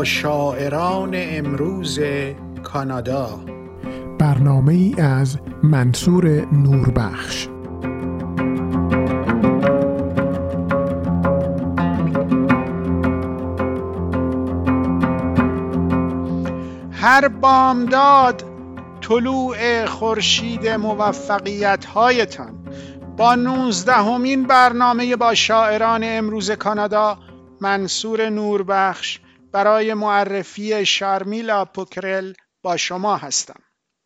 شاعران امروز کانادا، برنامه ای از منصور نوربخش. هر بامداد طلوع خورشید موفقیت هایتان با 19مین برنامه با شاعران امروز کانادا منصور نوربخش برای معرفی شارمیلا پوکرل با شما هستم.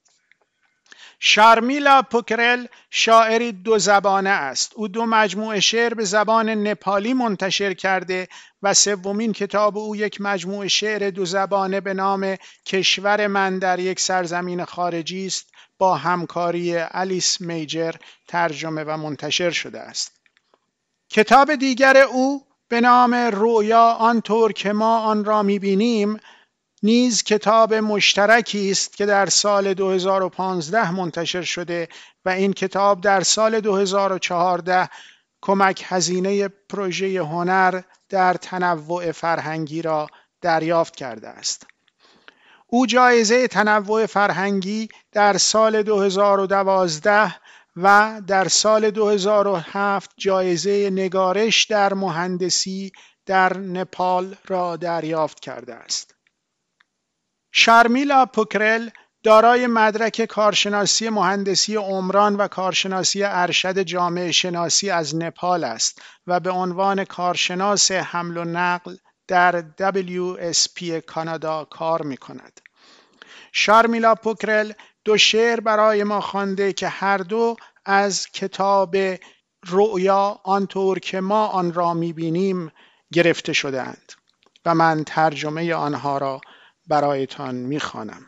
شارمیلا پوکرل شاعری 2 زبانه است. او 2 مجموعه شعر به زبان نپالی منتشر کرده و 3مین کتاب او یک مجموعه شعر 2 زبانه به نام کشور من در یک سرزمین خارجی است با همکاری الیس میجر ترجمه و منتشر شده است. کتاب دیگر او به نام رویا آنطور که ما آن را می‌بینیم نیز کتاب مشترکی است که در سال 2015 منتشر شده و این کتاب در سال 2014 کمک هزینه پروژه هنر در تنوع فرهنگی را دریافت کرده است. او جایزه تنوع فرهنگی در سال 2012 و در سال 2007 جایزه نگارش در مهندسی در نپال را دریافت کرده است. شارمیلا پوکرل دارای مدرک کارشناسی مهندسی عمران و کارشناسی ارشد جامعه شناسی از نپال است و به عنوان کارشناس حمل و نقل در WSP کانادا کار می کند. شارمیلا پوکرل 2 شعر برای ما خوانده که هر 2 از کتاب رؤیا آنطور که ما آن را می‌بینیم گرفته شده‌اند و من ترجمه آنها را برایتان می‌خوانم.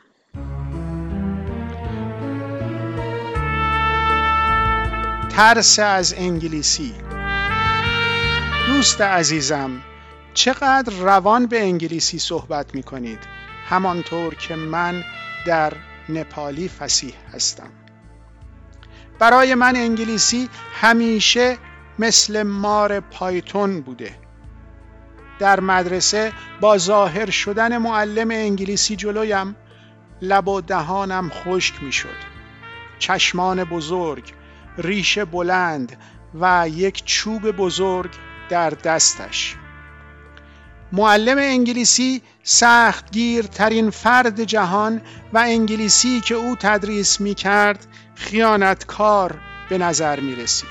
ترس از انگلیسی. دوست عزیزم، چقدر روان به انگلیسی صحبت می‌کنید، همانطور که من در نپالی فصیح هستم. برای من انگلیسی همیشه مثل مار پایتون بوده. در مدرسه با ظاهر شدن معلم انگلیسی جلویم لب و دهانم خشک می شد. چشمان بزرگ، ریش بلند و یک چوب بزرگ در دستش. معلم انگلیسی سختگیرترین فرد جهان و انگلیسی که او تدریس می کرد خیانتکار به نظر می رسید.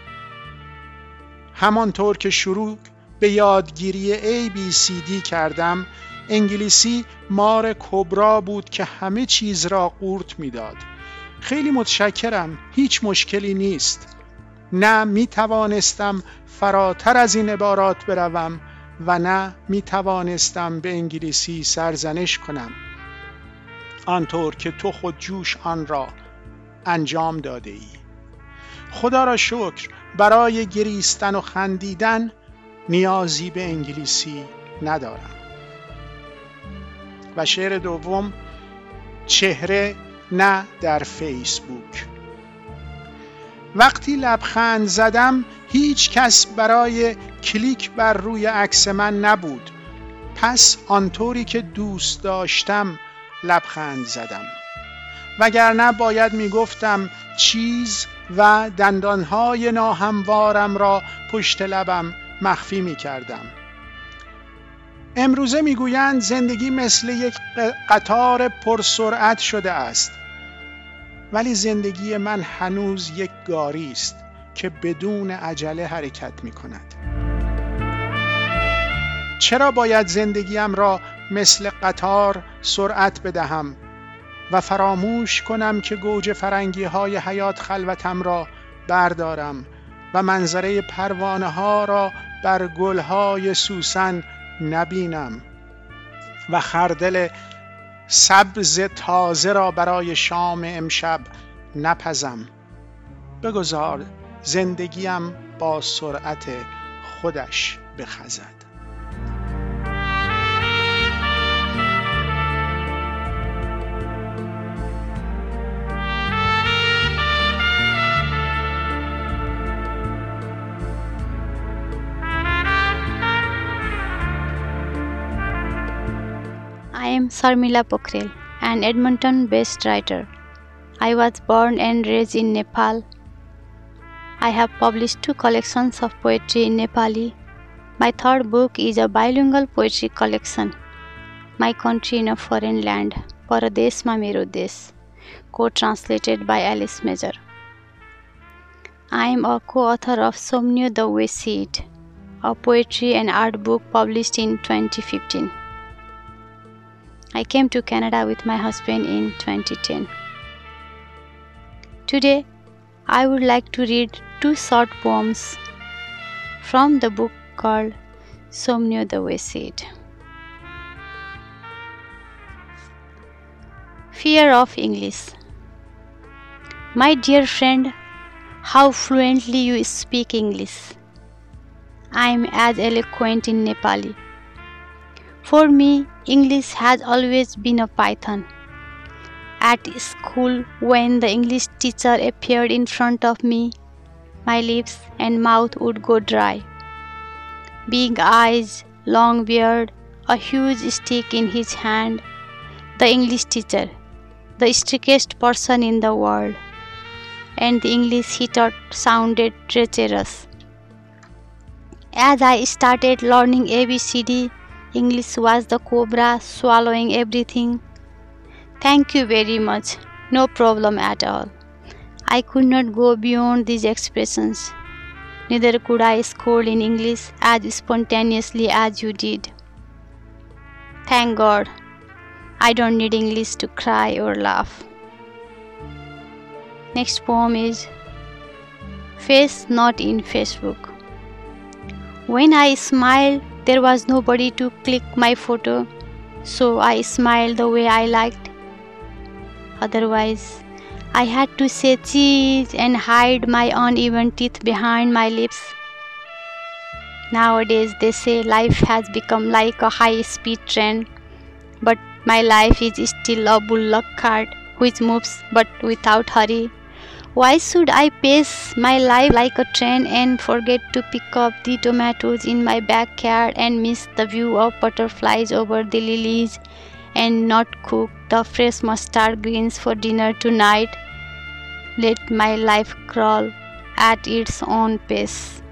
همانطور که شروع به یادگیری ABCD کردم، انگلیسی مار کبرا بود که همه چیز را قورت می داد. خیلی متشکرم، هیچ مشکلی نیست. نه می توانستم فراتر از این عبارات بروم و نه می توانستم به انگلیسی سرزنش کنم آنطور که تو خود جوش آن را انجام داده ای. خدا را شکر برای گریستن و خندیدن نیازی به انگلیسی ندارم. و شعر دوم، چهره نه در فیسبوک. وقتی لبخند زدم هیچ کس برای کلیک بر روی عکس من نبود، پس آنطوری که دوست داشتم لبخند زدم، وگرنه باید میگفتم چیز و دندانهای ناهموارم را پشت لبم مخفی میکردم. امروزه میگویند زندگی مثل یک قطار پرسرعت شده است، ولی زندگی من هنوز یک گاری است که بدون عجله حرکت میکند. چرا باید زندگیم را مثل قطار سرعت بدهم و فراموش کنم که گوجه فرنگی های حیات خلوتم را بردارم و منظره پروانه ها را بر گل های سوسن نبینم و خردل سبز تازه را برای شام امشب نپزم؟ بگذار زندگیم با سرعت خودش بخزد. Sarmila Pokhrel, an Edmonton-based writer. I was born and raised in Nepal. I have published 2 collections of poetry in Nepali. My third book is a bilingual poetry collection, My Country in a Foreign Land, Paradeshma Mero Desh, co-translated by Alice Major. I am a co-author of Somnio the Way See It, a poetry and art book published in 2015. I came to Canada with my husband in 2010. Today, I would like to read 2 short poems from the book called Somnio the Way See It. Fear of English. My dear friend, how fluently you speak English. I am as eloquent in Nepali. For me, English has always been a python. At school, when the English teacher appeared in front of me, my lips and mouth would go dry. Big eyes, long beard, a huge stick in his hand, the English teacher, the strictest person in the world, and the English he taught sounded treacherous. As I started learning ABCD, English was the cobra swallowing everything. Thank you very much. No problem at all. I could not go beyond these expressions. Neither could I scold in English as spontaneously as you did. Thank God, I don't need English to cry or laugh. Next poem is Face Not in Facebook. When I smiled, there was nobody to click my photo, so I smiled the way I liked. Otherwise, I had to say cheese and hide my uneven teeth behind my lips. Nowadays, they say life has become like a high-speed train, but my life is still a bullock cart which moves but without hurry. Why should I pace my life like a train and forget to pick up the tomatoes in my backyard and miss the view of butterflies over the lilies and not cook the fresh mustard greens for dinner tonight? Let my life crawl at its own pace.